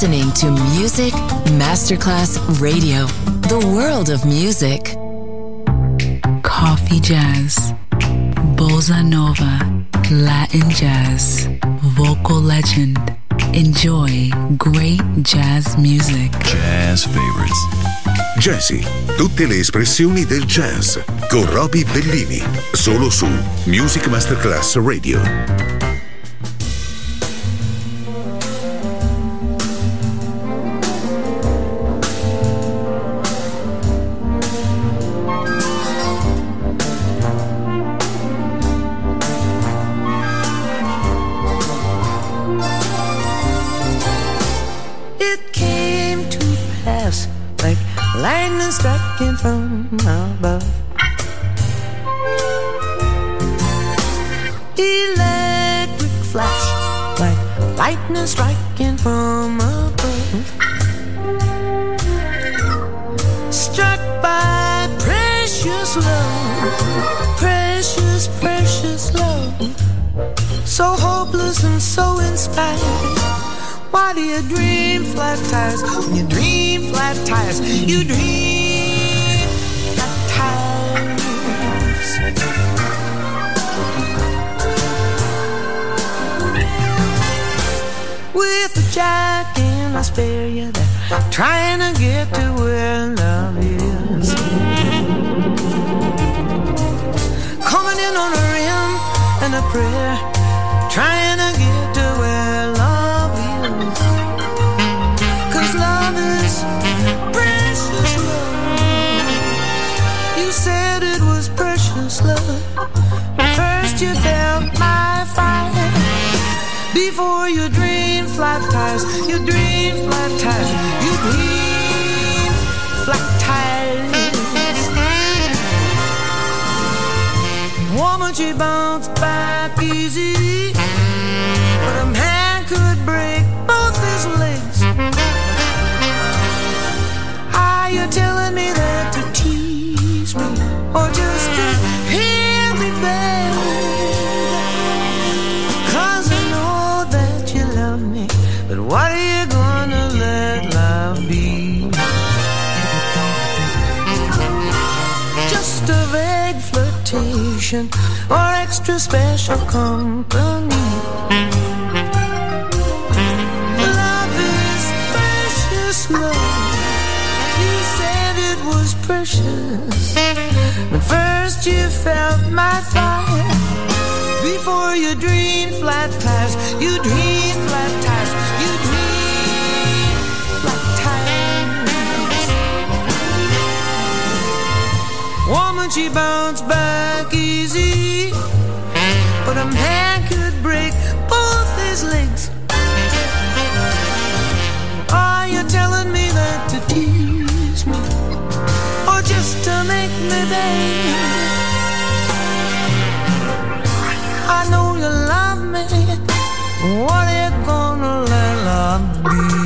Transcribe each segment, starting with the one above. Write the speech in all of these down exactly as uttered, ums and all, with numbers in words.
listening to Music Masterclass Radio, the world of music. Coffee jazz, bossa nova, Latin jazz, vocal legend. Enjoy great jazz music. Jazz favorites. Jazzy, tutte le espressioni del jazz con Roby Bellini, solo su Music Masterclass Radio. Lightning striking from above, electric flash like lightning striking from above, struck by precious love, precious, precious love, so hopeless and so inspired. Why do you dream flat tires? When you dream flat tires, you dream flat tires. With a jack in I spare you there, trying to get to where love is. Coming in on a rim and a prayer, trying to get to where love is. Love is precious love. You said it was precious love. First you felt my fire. Before you dream flat tires, you dream flat tires, you dream flat tires. Woman, she bounced back easy, but a man could break both his legs. You're telling me that to tease me, or just to hear me beg, 'cause I know that you love me, but what are you gonna let love be? Just a vague flirtation, or extra special company. Love is precious love. Was precious, but first you felt my fire. Before you dream flat tires, you dream flat tires, you dream flat tires. Woman, she bounced back easy, but a man could break both his legs. Are you telling me that to tease me, or just to make me beg? I know you love me. What are you gonna let love be?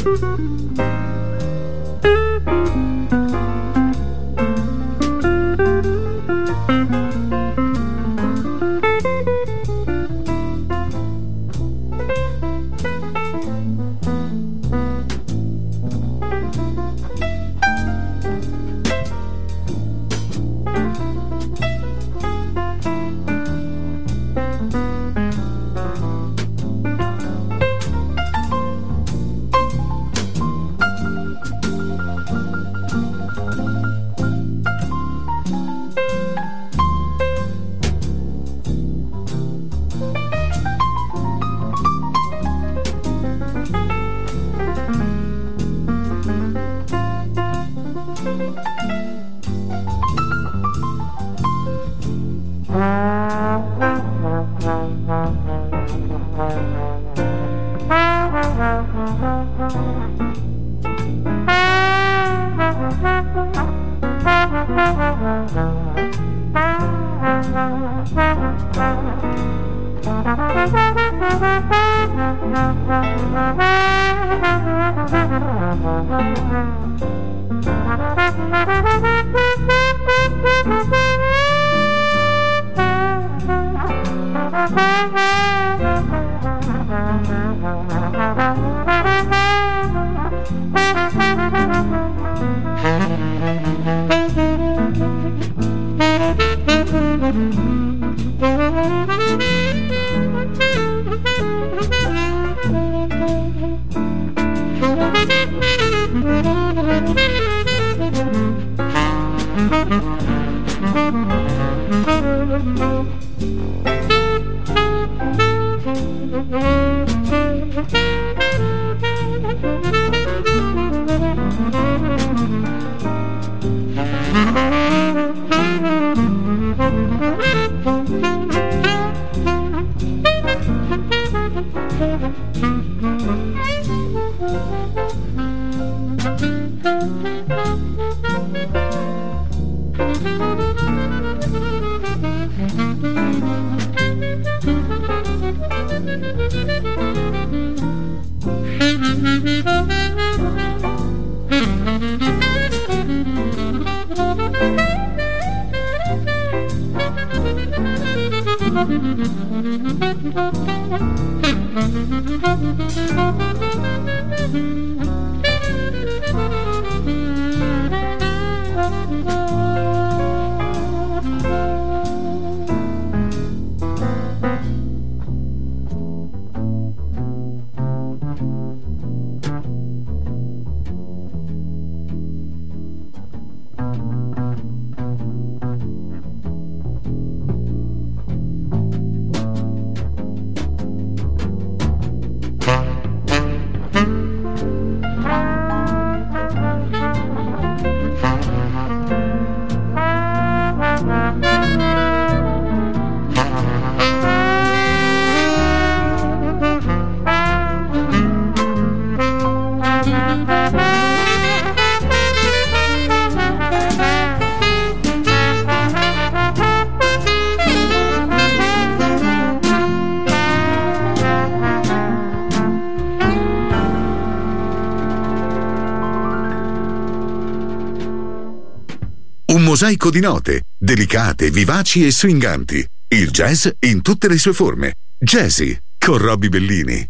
Un mosaico di note, delicate, vivaci e swinganti. Il jazz in tutte le sue forme. Jazzy, con Robbie Bellini.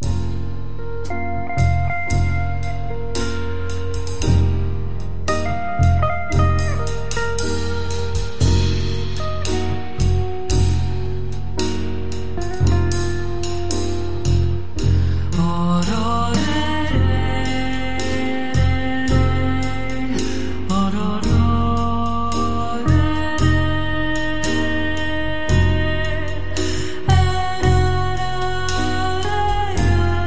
Oh,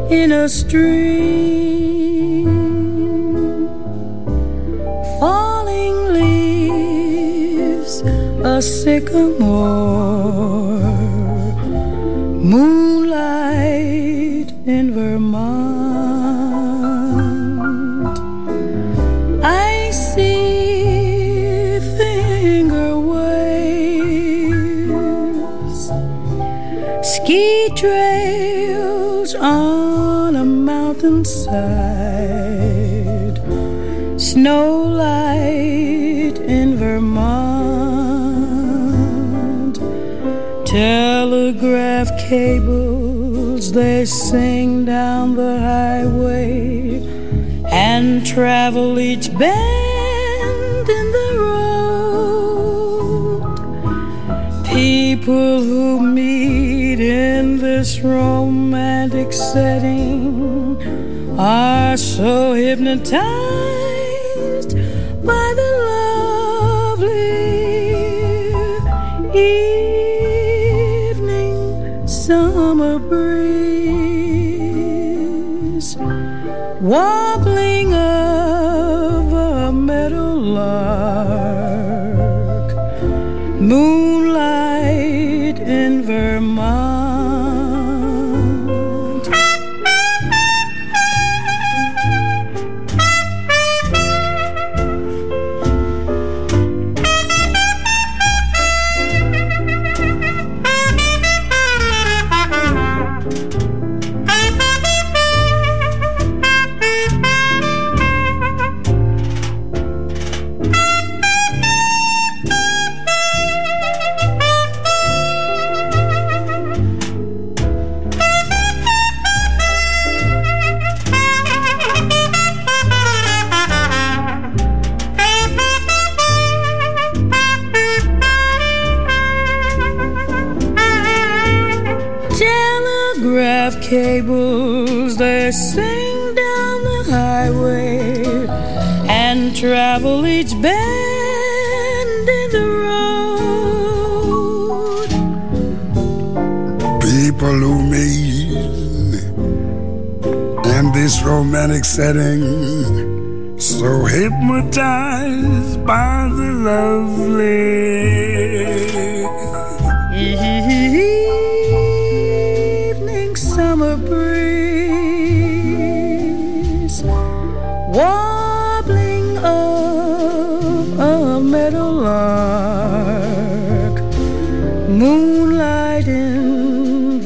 in a stream, falling leaves, a sycamore, moonlight in Vermont. I see finger waves, ski trails on a mountainside, snow light in Vermont. Telegraph cables, they sing down the highway and travel each bend in the road. People who meet in this romantic setting are so hypnotized by the lovely evening summer breeze, wobbling of a meadowlark, moonlight in Vermont. Cables, they sing down the highway and travel each bend in the road. People who meet in this romantic setting, so hypnotized by the lovely summer breeze, wobbling of a meadowlark, moonlight in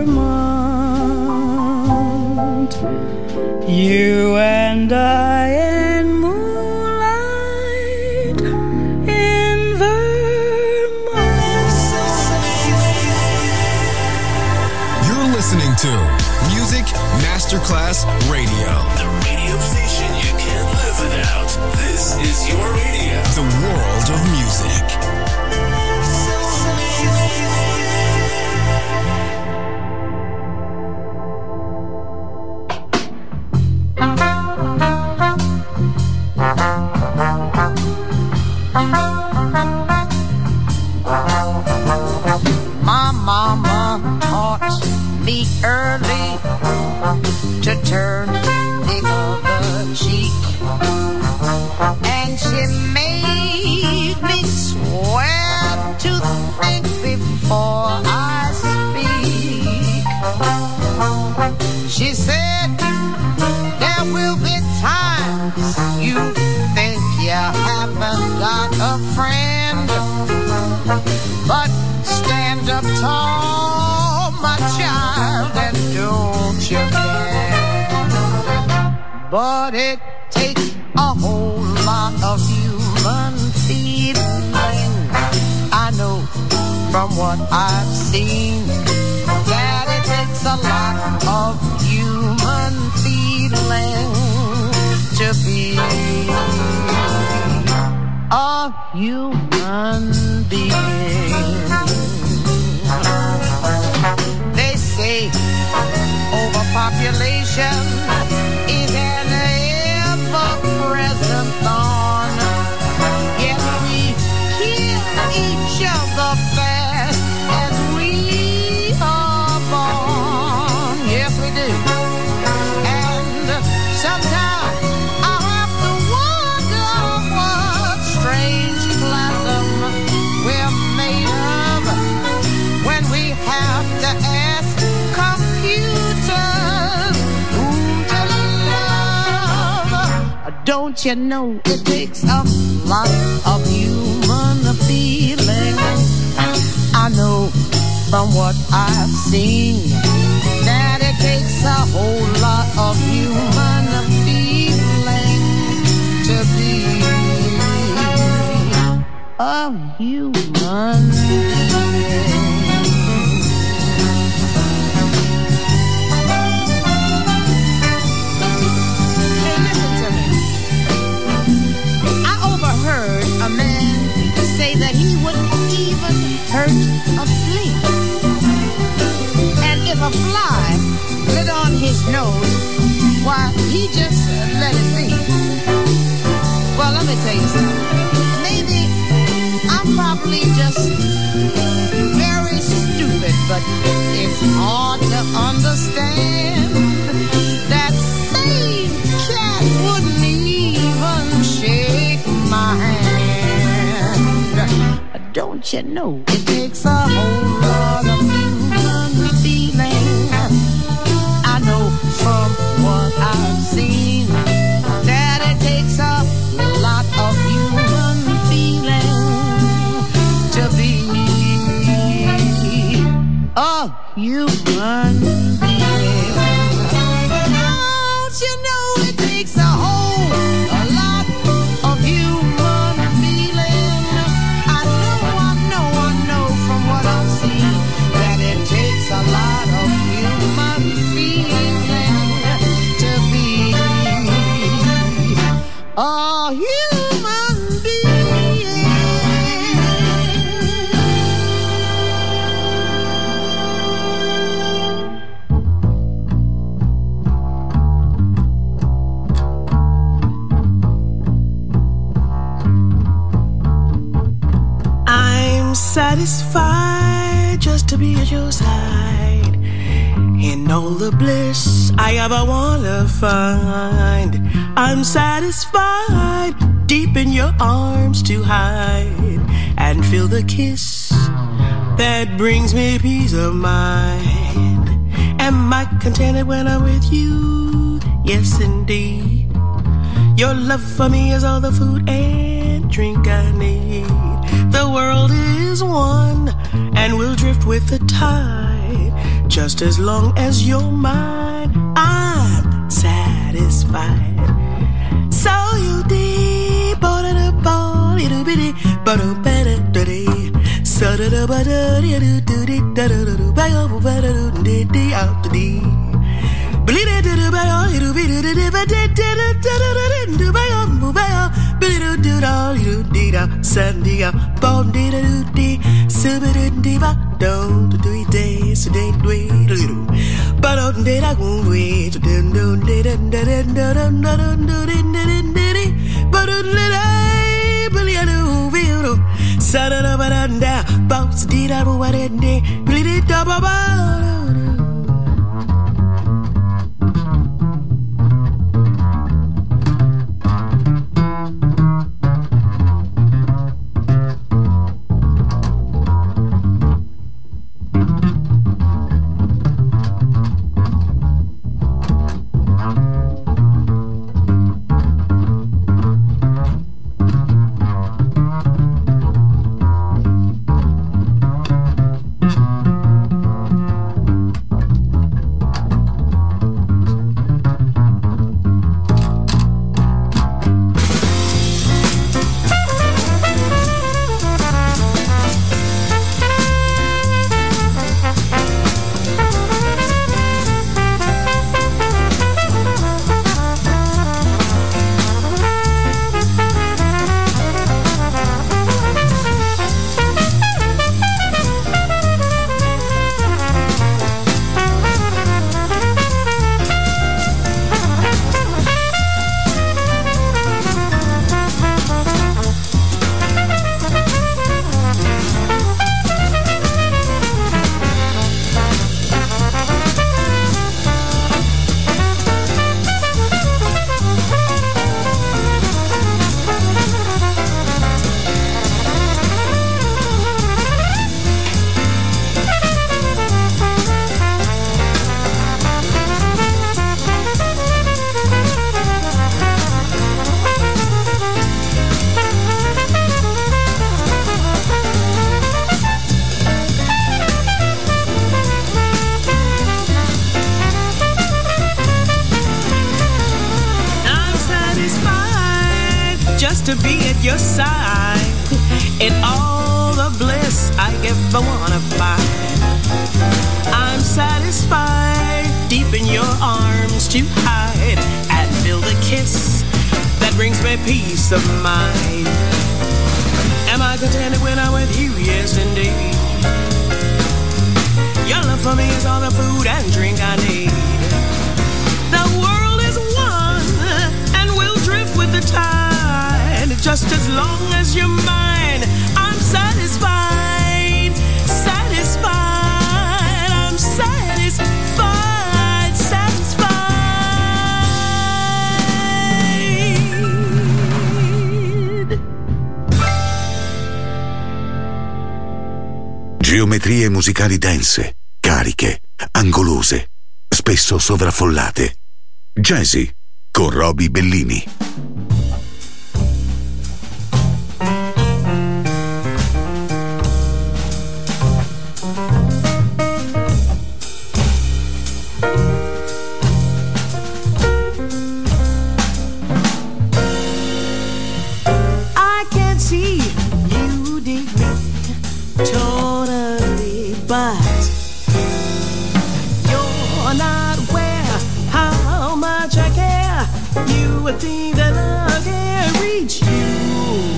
Vermont. You and I and moonlight in Vermont. You're listening to Music Masterclass Radio. The radio station you can't live without. This is your radio. The world of music. My mama taught me early to turn the other cheek, and she made me swear to think before I speak. She said there will be times you think you haven't got a friend, but stand up tall, my child, and don't you bend. But it takes a whole lot of human feeling. I know from what I've seen that it takes a lot of human feeling to be a human being. They say overpopulation is an ever-present thorn, yet we kill each other fast as we are born. Yes, we do. Don't you know it takes a lot of human feeling? I know from what I've seen that it takes a whole lot of human feeling to be a human being. A man say that he wouldn't even hurt a flea, and if a fly lit on his nose, why he just let it be. Well, let me tell you something. Maybe I'm probably just very stupid, but it's hard to understand that same cat wouldn't even shake my hand. Don't you know it takes a whole lot of human feeling? I know from what I've seen that it takes a lot of human feeling to be a human being. Don't you know it takes a whole a lot of human feeling? I know, I know, I know from what I've seen that it takes a lot of human feeling to be a human being. I'm satisfied just to be at your side in all the bliss I ever wanna find. I'm satisfied deep in your arms to hide and feel the kiss that brings me peace of mind. Am I contented when I'm with you? Yes, indeed. Your love for me is all the food and drink I need. The world is one and we'll drift with the tide. Just as long as you're mine, I'm satisfied. So you deep, but a ball, it'll be but a better day. So da da ba da da da da da da da da ba ba ba da da da da out the day. Believe it da da ba it'll be da da ba da da da da da da ba ba ba ba da da da da da da Sunday up bon da da da super da ba don't do it day so day wait a little but on da da go wait da da da da da da da da da da but on da believe it will sa da da ba da da bounce da da ba da da believe it da ba ba. to be at your side in all the bliss I ever wanna find. I'm satisfied deep in your arms to hide and feel the kiss that brings me peace of mind. Am I contented when I'm with you? Yes, indeed. Your love for me is all the food and drink I need. The world is one and we'll drift with the tide. Just as long as you're mine, I'm satisfied, satisfied, I'm satisfied, satisfied. Geometrie musicali dense, cariche, angolose, spesso sovraffollate. Jazzy con Roby Bellini. I can see you dig me totally, but you're not aware how much I care. You would think that I can reach you.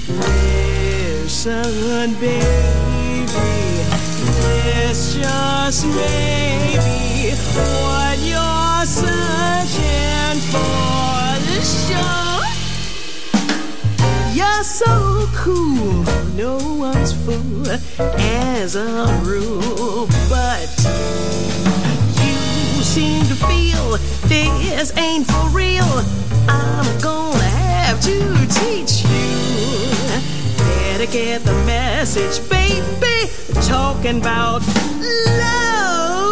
Listen, baby, it's just maybe what you're searching for. The show. You're so cool, no one's fool as a rule, but you seem to feel this ain't for real. I'm gonna have to teach you. Better get the message, baby, talking about love.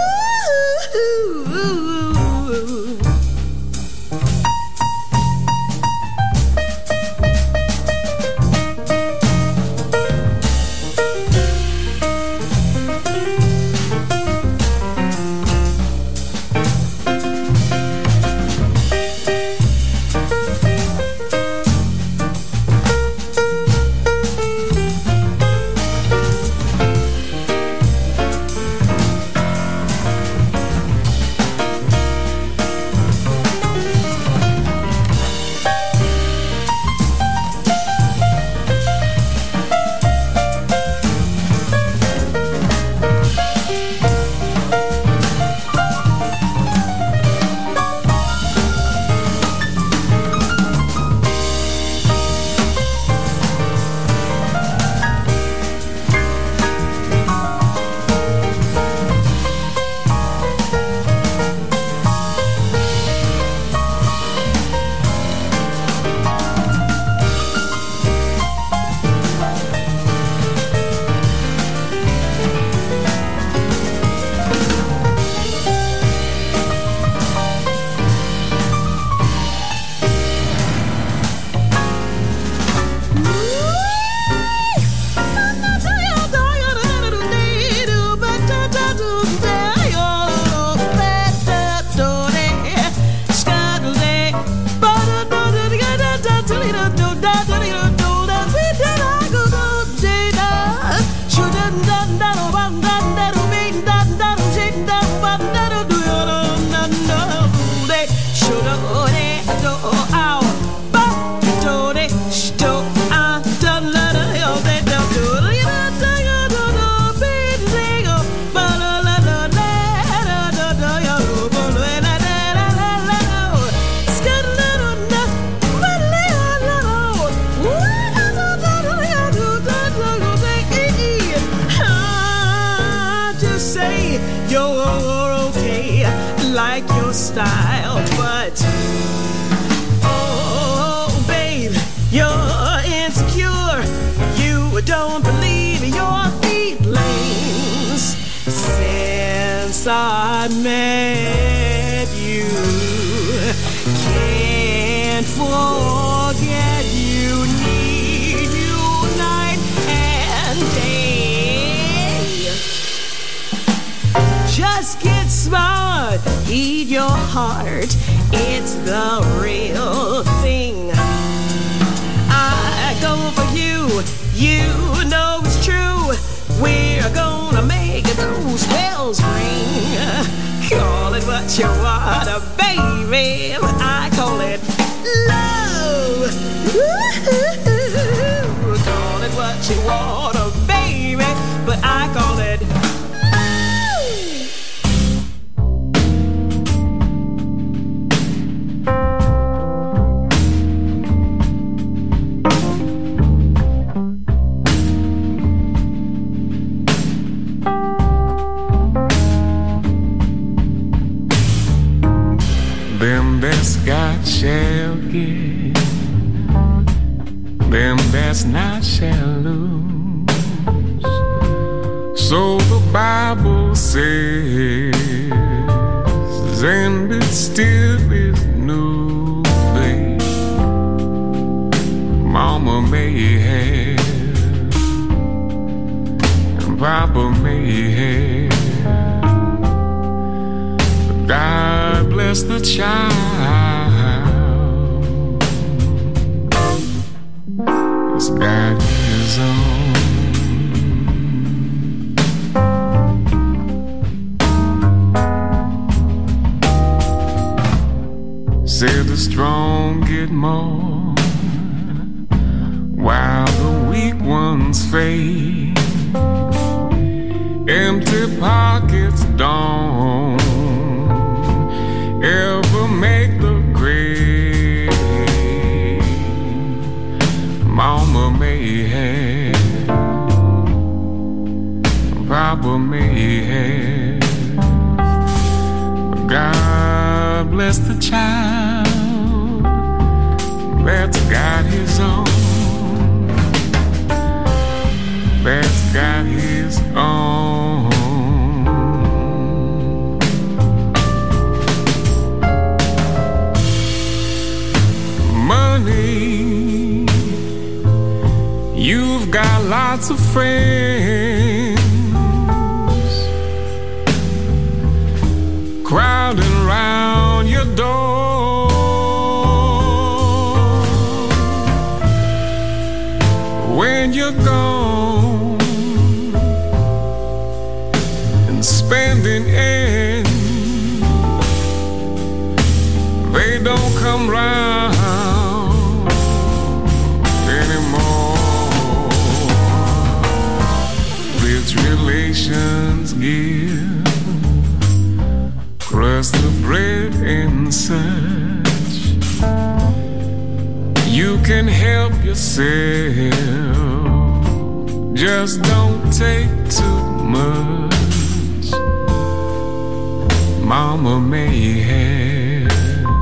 Style, but oh, babe, you're insecure. You don't believe your feelings since I met you. Can't forget you, need you night and day. Just get smart, heed your heart, it's the real thing. You know it's true. We're gonna make those bells ring. Call it what you want, baby, but I call it love. Woo-hoo-hoo. Call it what you want, baby, but I call it love. Them that's got shall get, them that's not shall lose. So the Bible says, and it still is new, babe. Mama may have, and Papa may have, but God bless the child. He's got his own. Said the strong get more, while the weak ones fade. Empty pockets don't ever make the grade. Mama may have, Papa may have, but God bless the child that's got his own, that's got his own. Money, you've got lots of friends crowding around your door. When you're gone and spending ends, they don't come round anymore. Rich relations give crust the bread and such. You can help yourself, just don't take too much. Mama may have,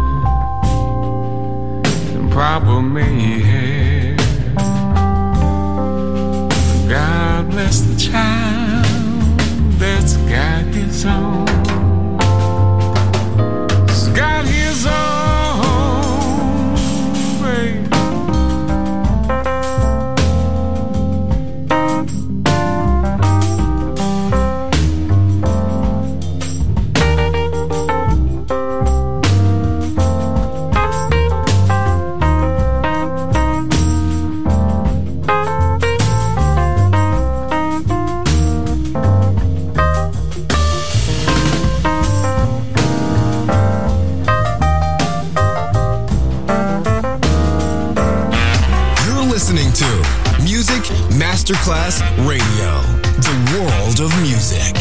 and Papa may have. God bless the child that's got his own. He's got his own, baby. Masterclass Radio, the world of music.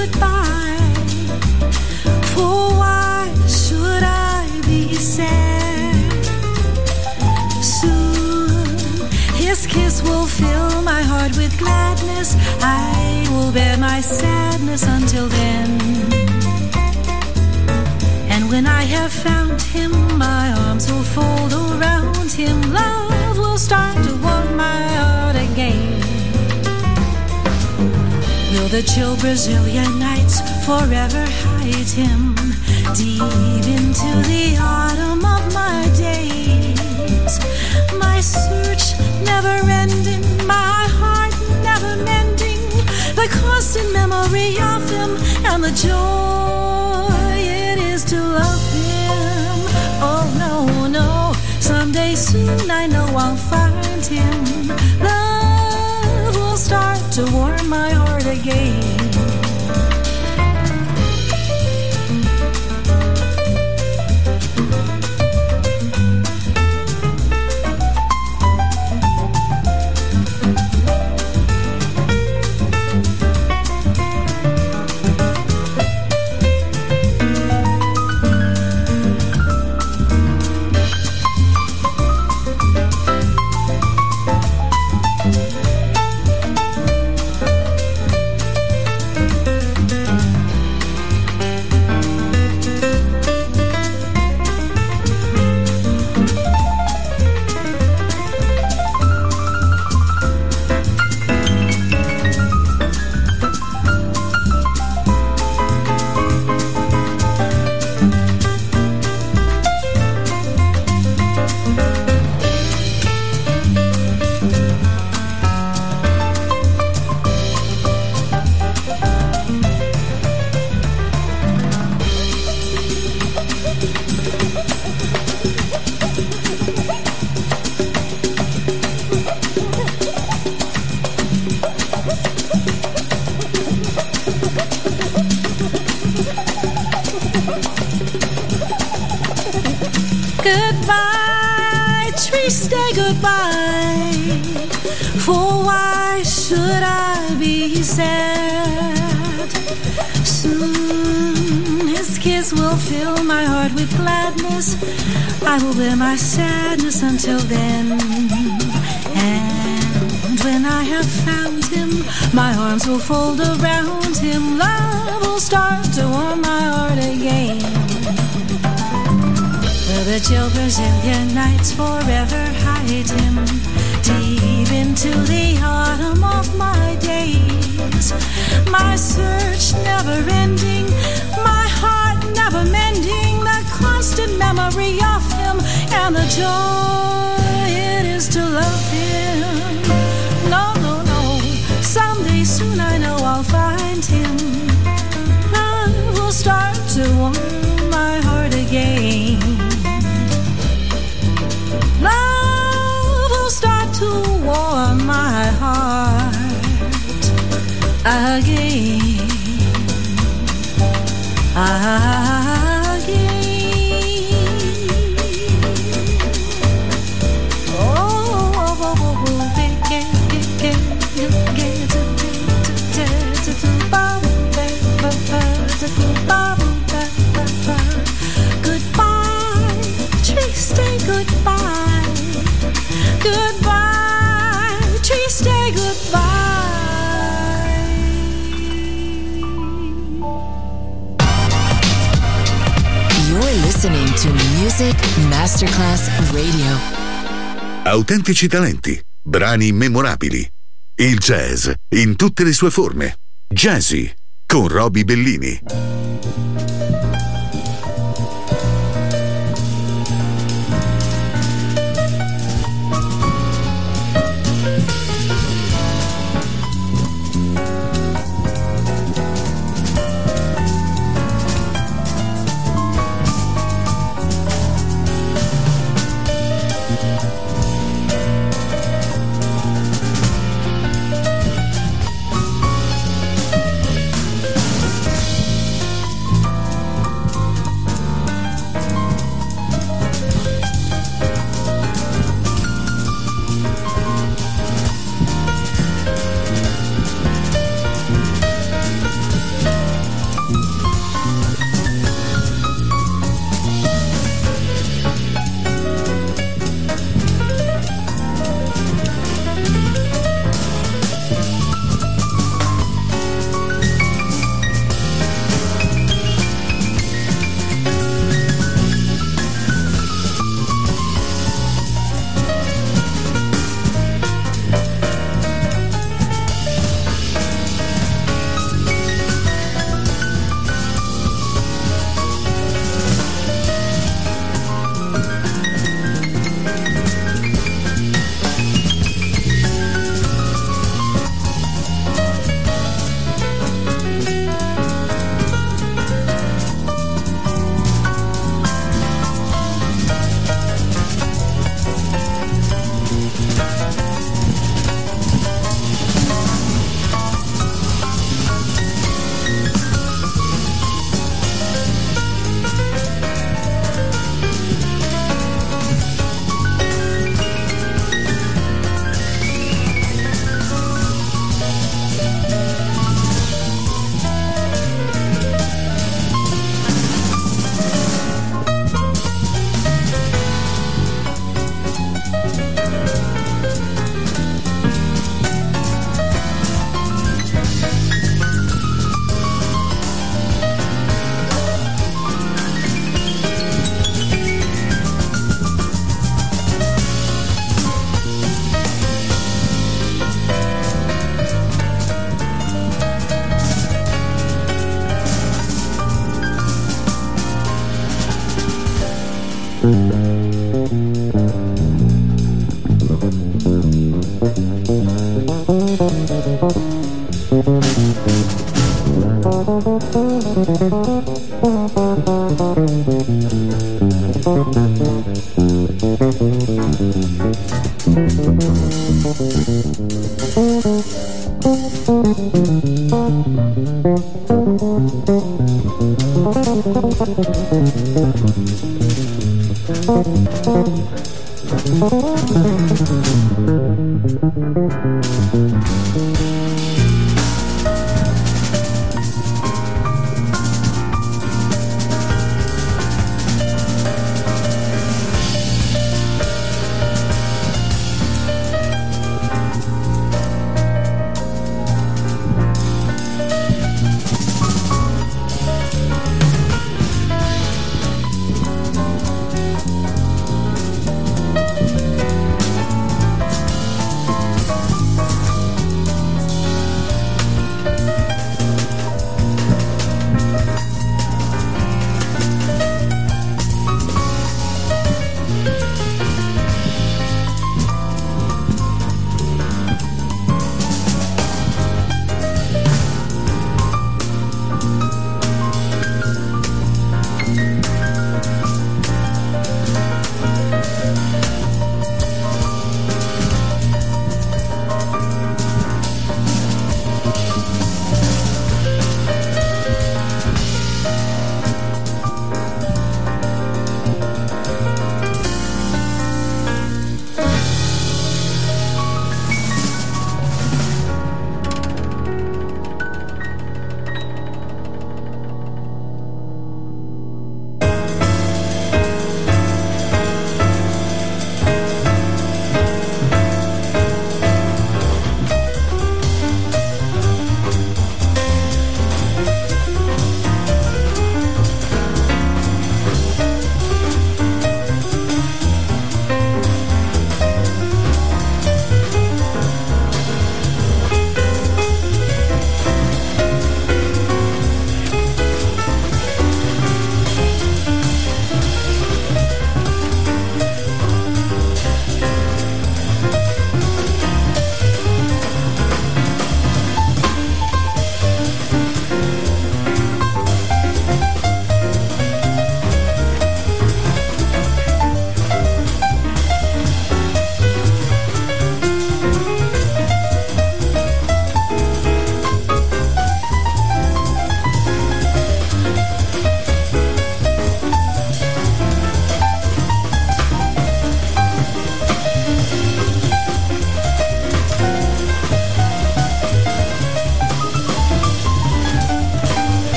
goodbye. For why should I be sad? Soon his kiss will fill my heart with gladness. I will bear my sadness until then. And when I have found him, my arms will fold around him. Love will start to warm my heart again. Will the chill Brazilian nights forever hide him deep into the autumn of my days? My search never ending, my heart never mending, the constant memory of him and the joy it is to love him. Oh no, no, someday soon I know I'll find him. Love will start to warm my heart again. Goodbye, tree, stay goodbye. For why should I be sad? Soon his kiss will fill my heart with gladness. I will bear my sadness until then. And when I have found him, my arms will fold around him. Love will start to warm my heart again. The chill Brazilian nights forever hide him deep into the autumn of my days. My search never ending, my heart never mending, the constant memory of him and the joy it is to love him. No, no, no, someday soon I know I'll find him. Love will start to warm my heart again. Love will start to warm my heart again, again. Oh, oh, oh, oh, oh, get, get, get, get, goodbye, tree, stay goodbye. Goodbye, tree, stay goodbye. You're listening to Music Masterclass Radio. Autentici talenti, brani memorabili. Il jazz in tutte le sue forme. Jazzy con Roby Bellini.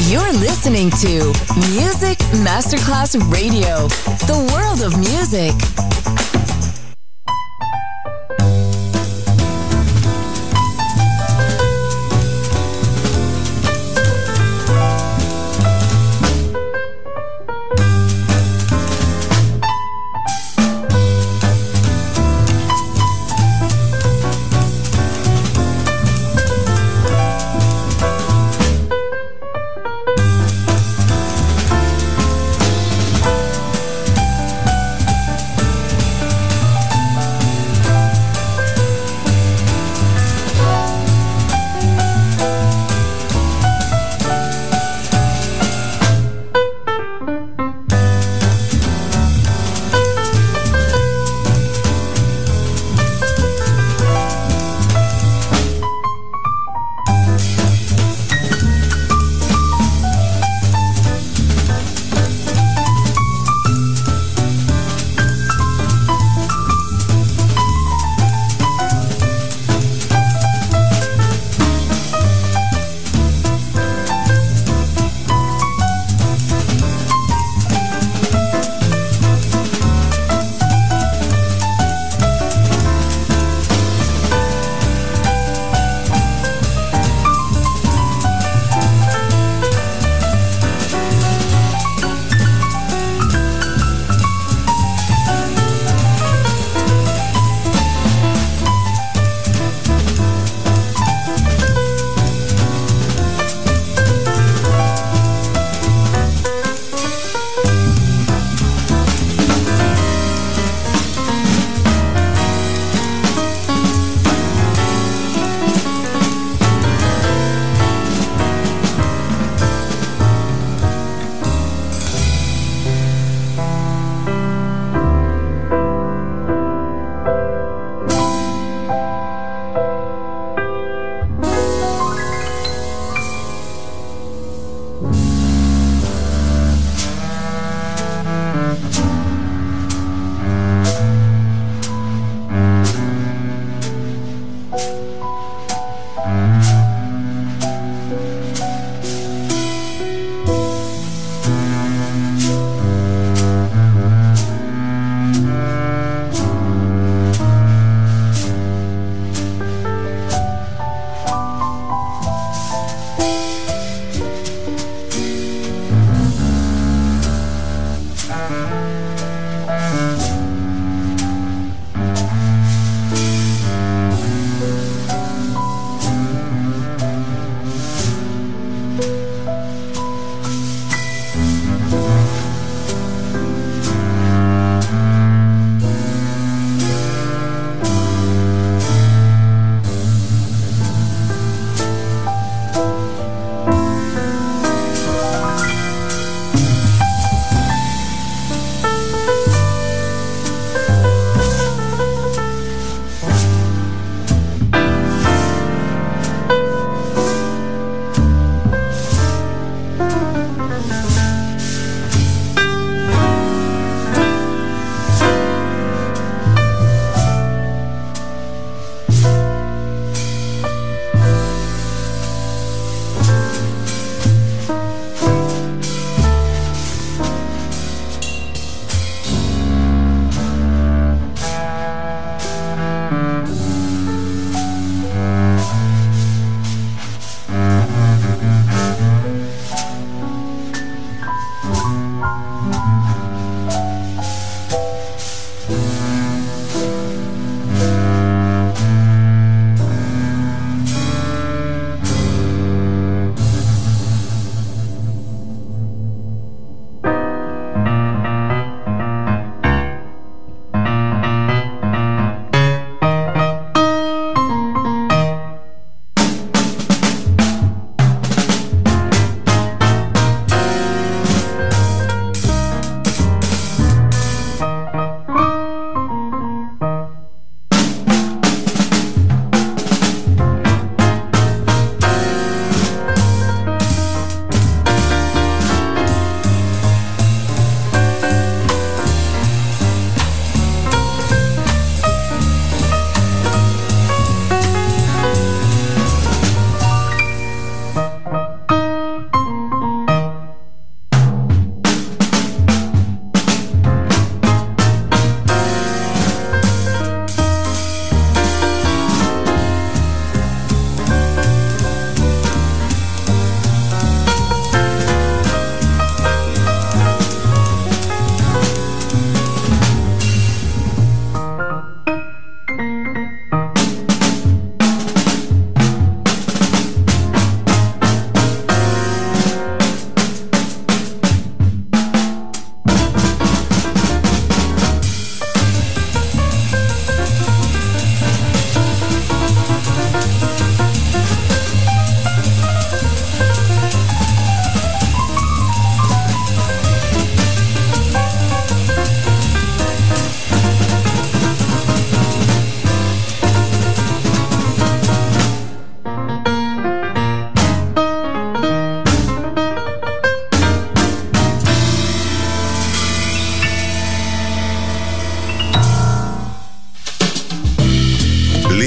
You're listening to Music Masterclass Radio, the world of music.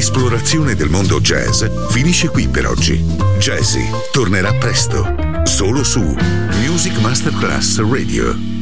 L'esplorazione del mondo jazz finisce qui per oggi. Jazzy tornerà presto, solo su Music Masterclass Radio.